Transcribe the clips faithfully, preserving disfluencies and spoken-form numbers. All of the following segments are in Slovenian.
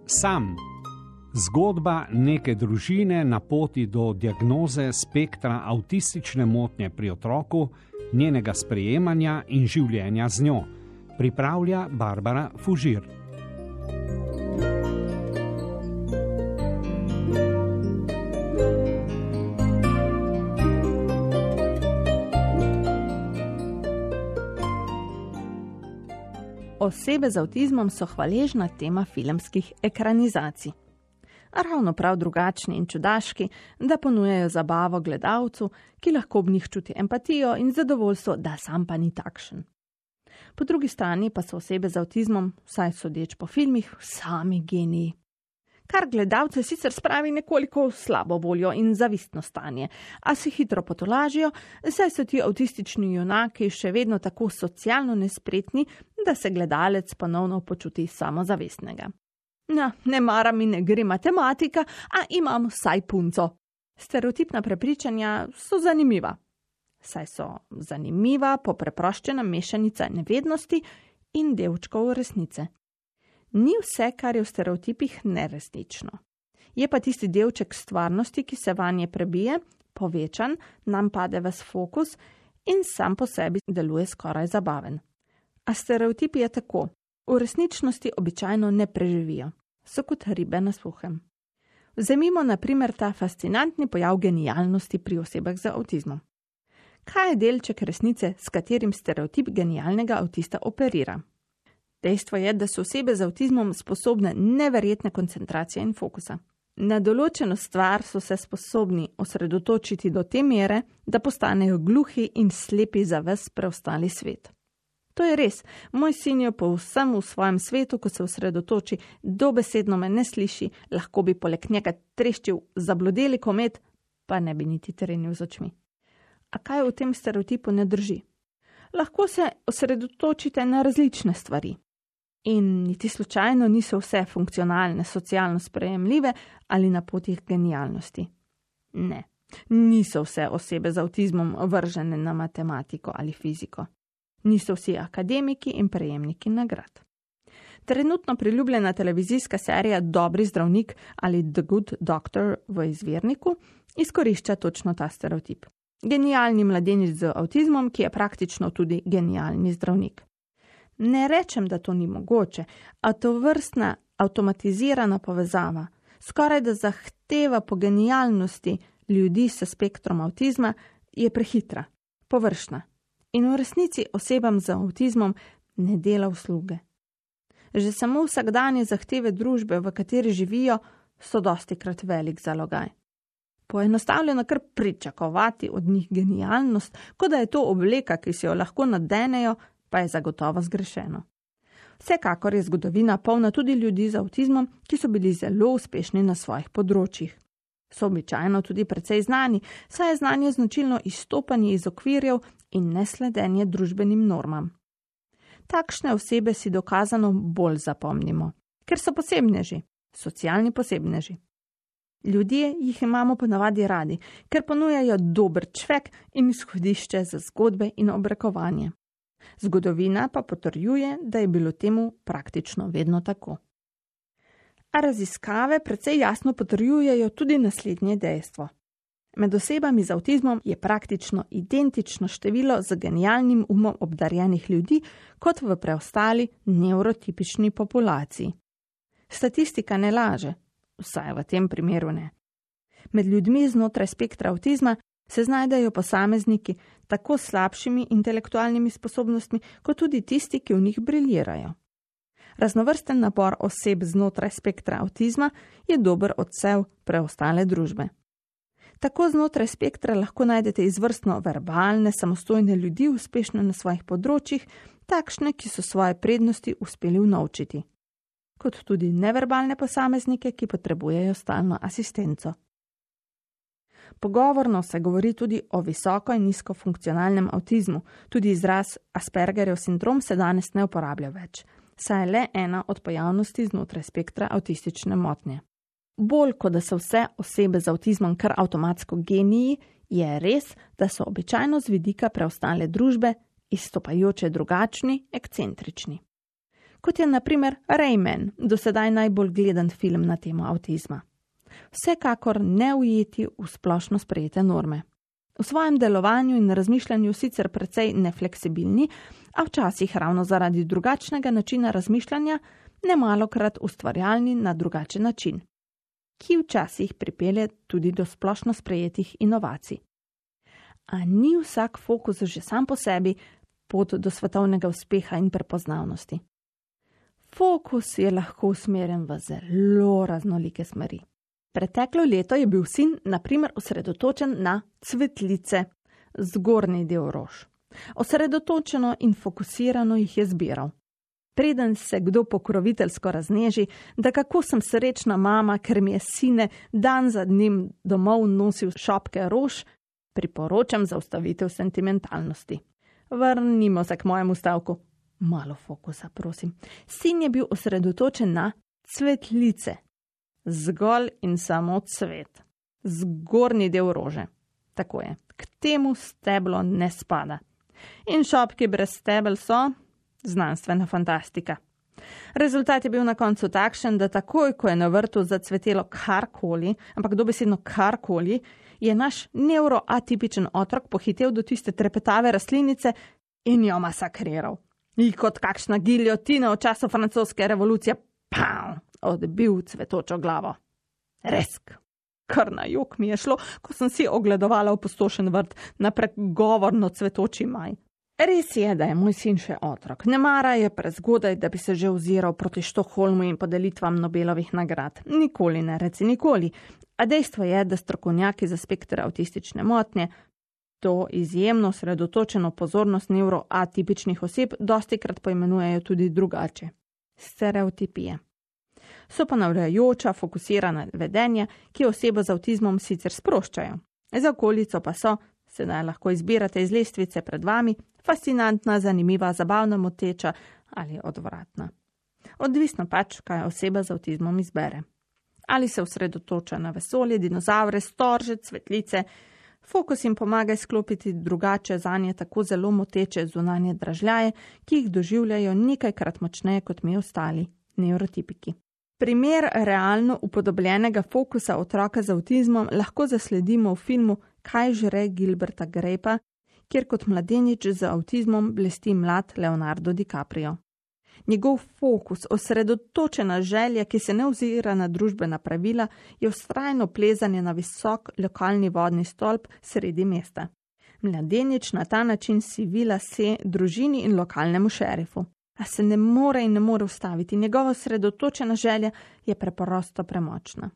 Sam. Zgodba neke družine na poti do diagnoze spektra avtistične motnje pri otroku, njenega sprejemanja in življenja z njo. Pripravlja Barbara Fužir. Osebe z avtizmom so hvaležna tema filmskih ekranizacij. Ravno prav drugačni in čudaški, da ponujajo zabavo gledalcu, ki lahko ob njih čuti empatijo in zadovoljstvo, da sam pa ni takšen. Po drugi strani pa so osebe z avtizmom, vsaj sodeč po filmih, sami geniji. Kar gledalce sicer spravi nekoliko v slabo voljo in zavistno stanje, a se hitro potolažijo, saj so ti avtistični junaki še vedno tako socialno nespretni, da se gledalec ponovno počuti samozavestnega. No, ne mara mi ne gre matematika, a imam vsaj punco. Stereotipna prepričanja so zanimiva. Saj so zanimiva popreproščena mešanica nevednosti in delčkov resnice. Ni vse, kar je v stereotipih, neresnično. Je pa tisti delček stvarnosti, ki se vanje prebije, povečan, nam pade ves fokus in sam po sebi deluje skoraj zabaven. A stereotipi je tako. V resničnosti običajno ne preživijo. So kot ribe na suhem. Vzemimo na primer ta fascinantni pojav genialnosti pri osebah z avtizmom. Kaj je delček resnice, s katerim stereotip genialnega avtista operira? Dejstvo je, da so osebe z avtizmom sposobne neverjetne koncentracije in fokusa. Na določeno stvar so se sposobni osredotočiti do te mere, da postanejo gluhi in slepi za ves preostali svet. To je res, moj sin je povsem v svojem svetu, ko se osredotoči, dobesedno me ne sliši, lahko bi poleg njega treščil zablodeli komet, pa ne bi niti trenil z očmi. A kaj v tem stereotipu ne drži? Lahko se osredotočite na različne stvari. In niti slučajno niso vse funkcionalne, socialno sprejemljive ali na poti genialnosti. Ne, niso vse osebe z avtizmom vržene na matematiko ali fiziko. Niso vsi akademiki in prejemniki nagrad. Trenutno priljubljena televizijska serija Dobri zdravnik ali The Good Doctor v izvirniku izkorišča točno ta stereotip. Genialni mladenič z avtizmom, ki je praktično tudi genialni zdravnik. Ne rečem, da to ni mogoče, a to vrstna avtomatizirana povezava, skoraj da zahteva po genialnosti ljudi s spektrom avtizma, je prehitra, površna. In v resnici osebam z avtizmom ne dela usluge. Že samo vsakdanje zahteve družbe, v kateri živijo, so dostikrat velik zalogaj. Poenostavljeno kar pričakovati od njih genialnost, kot da je to obleka, ki si jo lahko nadenejo, pa je zagotovo zgrešeno. Vsekakor je zgodovina polna tudi ljudi z avtizmom, ki so bili zelo uspešni na svojih področjih. So običajno tudi precej znani, saj je znanje značilno izstopanje iz okvirjev in nesledenje družbenim normam. Takšne osebe si dokazano bolj zapomnimo, ker so posebneži, socialni posebneži. Ljudje jih imamo ponavadi radi, ker ponujajo dober čvek in izhodišče za zgodbe in obrekovanje. Zgodovina pa potrjuje, da je bilo temu praktično vedno tako. A raziskave precej jasno potrjujejo tudi naslednje dejstvo. Med osebami z avtizmom je praktično identično število z genialnim umom obdarjenih ljudi kot v preostali nevrotipični populaciji. Statistika ne laže, vsaj v tem primeru ne. Med ljudmi znotraj spektra avtizma se znajdejo posamezniki tako s slabšimi intelektualnimi sposobnostmi, kot tudi tisti, ki v njih briljirajo. Raznovrsten nabor oseb znotraj spektra avtizma je dober odsev preostale družbe. Tako znotraj spektra lahko najdete izvrstno verbalne, samostojne ljudi, uspešne na svojih področjih, takšne, ki so svoje prednosti uspeli unovčiti, kot tudi neverbalne posameznike, ki potrebujejo stalno asistenco. Pogovorno se govori tudi o visoko in nizko funkcionalnem avtizmu, tudi izraz Aspergerjev sindrom se danes ne uporablja več, saj je le ena od pojavnosti znotraj spektra avtistične motnje. Bolj kot da so vse osebe z avtizmom kar avtomatsko geniji, je res, da so običajno z vidika preostale družbe izstopajoče drugačni, ekscentrični. kot je na primer Rayman, do sedaj najbolj gledan film na temo avtizma. Vsekakor ne ujeti v splošno sprejete norme. V svojem delovanju in razmišljanju sicer precej nefleksibilni, a včasih ravno zaradi drugačnega načina razmišljanja nemalokrat ustvarjalni na drugačen način, ki včasih pripelje tudi do splošno sprejetih inovacij. A ni vsak fokus že sam po sebi pot do svetovnega uspeha in prepoznavnosti. Fokus je lahko usmerjen v zelo raznolike smeri. Preteklo leto je bil sin na primer osredotočen na cvetlice, zgornji del rož. Osredotočeno in fokusirano jih je zbiral. Preden se kdo pokroviteljsko razneži, da kako sem srečna mama, ker mi je sine dan za dnem domov nosil šopke rož, priporočam zaustavitev sentimentalnosti. Vrnimo se k mojemu stavku. Malo fokusa, prosim. Sin je bil osredotočen na cvetlice. Zgolj in samo cvet. Zgornji del rože. Tako je. K temu steblo ne spada. In šopki brez stebel so znanstvena fantastika. Rezultat je bil na koncu takšen, da takoj, ko je na vrtu zacvetelo karkoli, ampak dobesedno karkoli, je naš neuroatipičen otrok pohitel do tiste trepetave rastlinice in jo masakriral. In kot kakšna giljotina v času francoske revolucije, pam, odbil cvetočo glavo. Resk. Kar na jok mi je šlo, ko sem si ogledovala opustošen vrt na pregovorno cvetoči maj. Res je, da je moj sin še otrok. Ne mara je prezgodaj, da bi se že oziral proti Štokholmu in podelitvam Nobelovih nagrad. Nikoli ne reci nikoli. A dejstvo je, da strokovnjaki za spekter avtistične motnje to izjemno sredotočeno pozornost neuroatipičnih oseb dostikrat poimenujejo tudi drugače. Stereotipije. So ponavljajoča, fokusirana vedenja, ki osebo z avtizmom sicer sproščajo. Za okolico pa so, sedaj lahko izbirate iz lestvice pred vami, fascinantna, zanimiva, zabavna, moteča ali odvratna. Odvisno pač, kaj oseba z avtizmom izbere. Ali se osredotoča na vesolje, dinozavre, storže, cvetlice. Fokus jim pomaga izklopiti drugače zanje tako zelo moteče zunanje dražljaje, ki jih doživljajo nekajkrat močneje kot mi ostali, neurotipiki. Primer realno upodobljenega fokusa otroka z avtizmom lahko zasledimo v filmu Kaj žre Gilberta Grape'a, kjer kot mladenič z avtizmom blesti mlad Leonardo DiCaprio. Njegov fokus, osredotočena želja, ki se ne ozira na družbena pravila, je vztrajno plezanje na visok lokalni vodni stolp sredi mesta. Mladenič na ta način sivila se družini in lokalnemu šerifu. A se ne more in ne more ustaviti. Njegova osredotočena želja je preprosto premočna.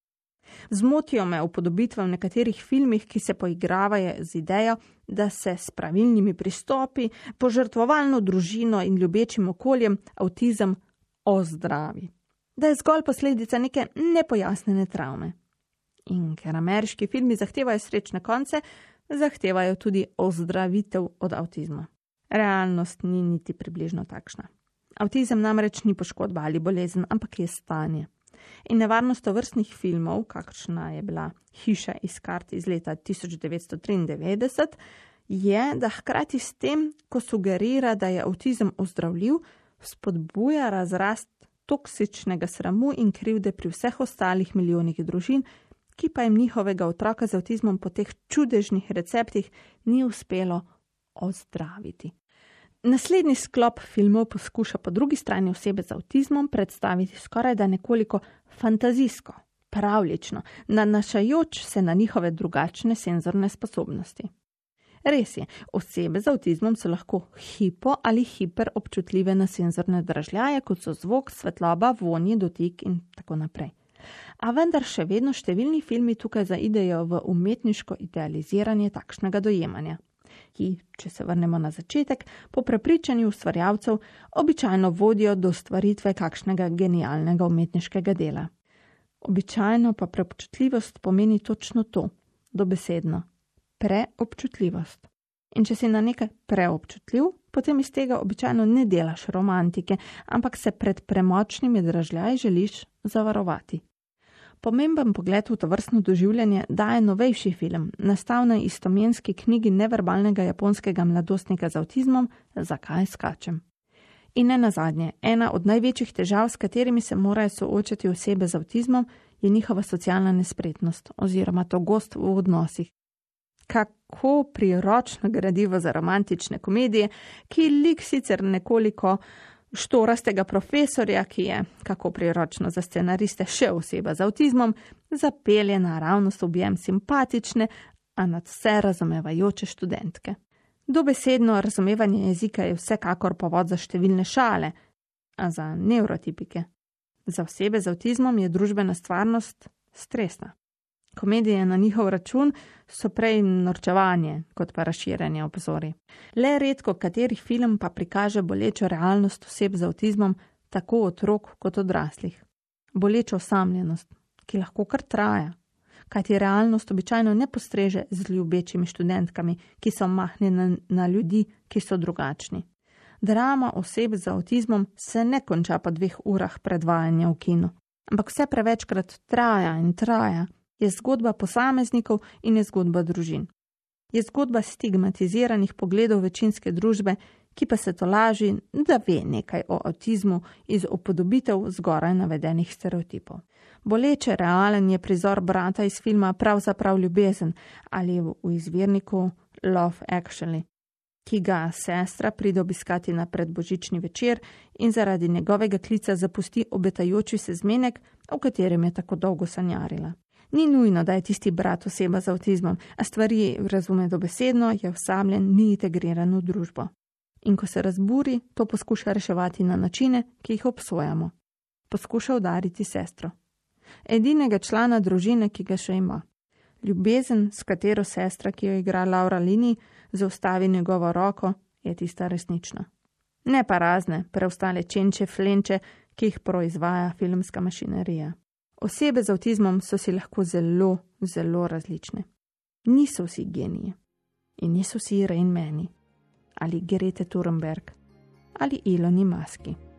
Zmotijo me upodobitve v nekaterih filmih, ki se poigravajo z idejo, da se s pravilnimi pristopi, požrtvovalno družino in ljubečim okoljem avtizem ozdravi. Da je zgolj posledica neke nepojasnjene travme. In ker ameriški filmi zahtevajo srečne konce, zahtevajo tudi ozdravitev od avtizma. Realnost ni niti približno takšna. Avtizem namreč ni poškodba ali bolezen, ampak je stanje. In nevarnost tovrstnih filmov, kakšna je bila Hiša iz kart iz leta tisoč devetsto triindevetdeset, je, da hkrati s tem, ko sugerira, da je avtizem ozdravljiv, spodbuja razrast toksičnega sramu in krivde pri vseh ostalih milijonih družin, ki pa jim njihovega otroka z avtizmom po teh čudežnih receptih ni uspelo ozdraviti. Naslednji sklop filmov poskuša po drugi strani osebe z avtizmom predstaviti skoraj da nekoliko fantazijsko, pravljično, nanašajoč se na njihove drugačne senzorne sposobnosti. Res je, osebe z avtizmom so lahko hipo ali hiper občutljive na senzorne dražljaje, kot so zvok, svetloba, vonji, dotik in tako naprej. A vendar še vedno številni filmi tukaj zaidejo v umetniško idealiziranje takšnega dojemanja, ki, če se vrnemo na začetek, po prepričanju ustvarjalcev običajno vodijo do stvaritve kakšnega genialnega umetniškega dela. Običajno pa preobčutljivost pomeni točno to, dobesedno, preobčutljivost. In če si na nekaj preobčutljiv, potem iz tega običajno ne delaš romantike, ampak se pred premočnimi dražljaji želiš zavarovati. Pomemben pogled v tovrstno doživljanje daje novejši film, nastal na istoimenski knjigi neverbalnega japonskega mladostnika z avtizmom Zakaj skačem. In ne nazadnje, ena od največjih težav, s katerimi se morajo soočati osebe z avtizmom, je njihova socialna nespretnost oziroma togost v odnosih. Kako priročno gradivo za romantične komedije, ki lik sicer nekoliko štorastega profesorja, ki je, kako priročno za scenariste, še oseba z avtizmom, zapelje naravnost objem simpatične, a nad vse razumevajoče študentke. Dobesedno razumevanje jezika je vsekakor povod za številne šale, a za nevrotipike. Za osebe z avtizmom je družbena stvarnost stresna. Komedije na njihov račun so prej norčevanje, kot pa razširjanje obzorij. Le redko kateri film pa prikaže bolečo realnost oseb z avtizmom, tako otrok kot odraslih. Bolečo osamljenost, ki lahko kar traja, kajti realnost običajno ne postreže z ljubečimi študentkami, ki so mahnjene na ljudi, ki so drugačni. Drama oseb z avtizmom se ne konča po dveh urah predvajanja v kinu, ampak vse prevečkrat traja in traja. Je zgodba posameznikov in je zgodba družin. Je zgodba stigmatiziranih pogledov večinske družbe, ki pa se tolaži, da ve nekaj o avtizmu iz upodobitev zgoraj navedenih stereotipov. Boleče realen je prizor brata iz filma Pravzaprav ljubezen ali v izvirniku Love Actually, ki ga sestra pride obiskati na predbožični večer in zaradi njegovega klica zapusti obetajoči se zmenek, o katerem je tako dolgo sanjarila. Ni nujno, da je tisti brat oseba z avtizmom, a stvari razume dobesedno, je osamljen, ni integriran v družbo. In ko se razburi, to poskuša reševati na načine, ki jih obsojamo. Poskuša udariti sestro. Edinega člana družine, ki ga še ima. Ljubezen, s katero sestra, ki jo igra Laura Linney, zaustavi njegovo roko, je tista resnična. Ne pa razne, preostale čenče, flenče, ki jih proizvaja filmska mašinerija. Osebe z avtizmom so si lahko zelo, zelo različne. Niso vsi geniji. In niso vsi Rain Mani. Ali Grete Thunberg. Ali Eloni Muski.